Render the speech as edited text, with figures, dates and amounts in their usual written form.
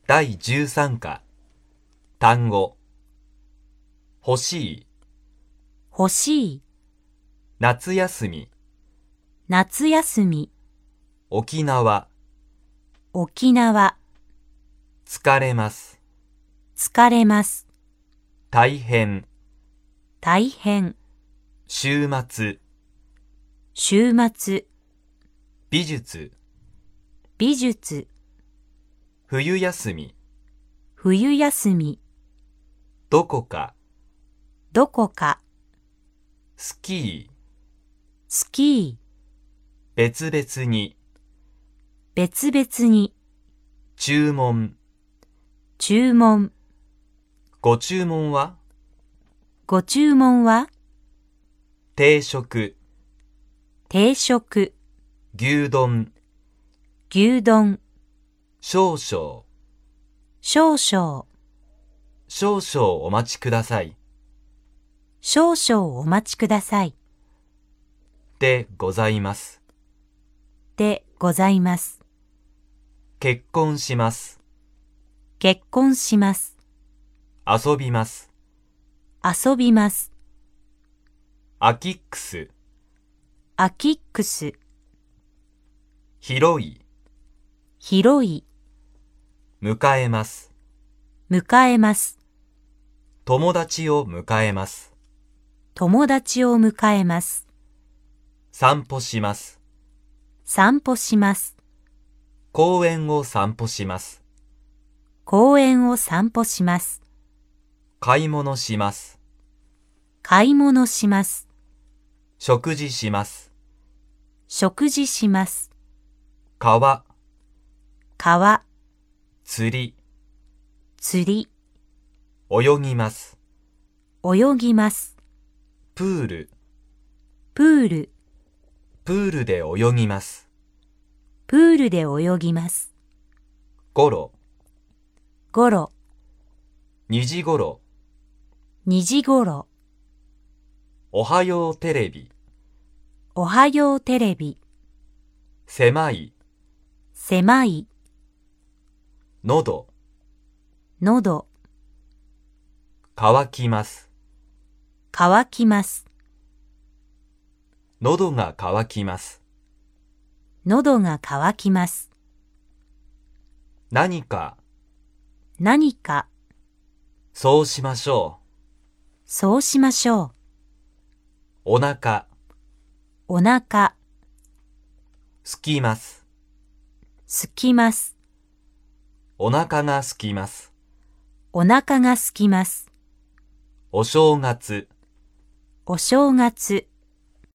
第13課単語欲しい欲しい、 夏休み夏休み、 沖縄沖縄、 疲れます疲れます、 大変大変、 週末週末、 美術美術、 冬休み冬休み、 どこかどこか、 スキースキー、 別々に別々に、 注文注文、 ご注文はご注文は定食定食、 牛丼牛丼、 少々 少々、 少々お待ちください少々お待ちください。 でございますでございます。 結婚します結婚します。 遊びます遊びます。 アキックスアキックス、 広い広い、 迎えます迎えます。 友達を迎えます友達を迎えます。 散歩します散歩します。 公園を散歩します公園を散歩します。 買い物します買い物します。 食事します食事します。 川川、 釣り釣り、 泳ぎます泳ぎます。 プールプール、 プールで泳ぎますプールで泳ぎます。 ごろごろ、 2時ごろ 2時ごろ、 おはようテレビおはようテレビ、 狭い狭い、 喉喉、 乾きます乾きます。 喉が乾きます喉が乾きます。 何か何か、 そうしましょそうしましょう。 うお腹お腹、 すきますすきます。 お腹がすきますお腹がすきます。 お正月お正月、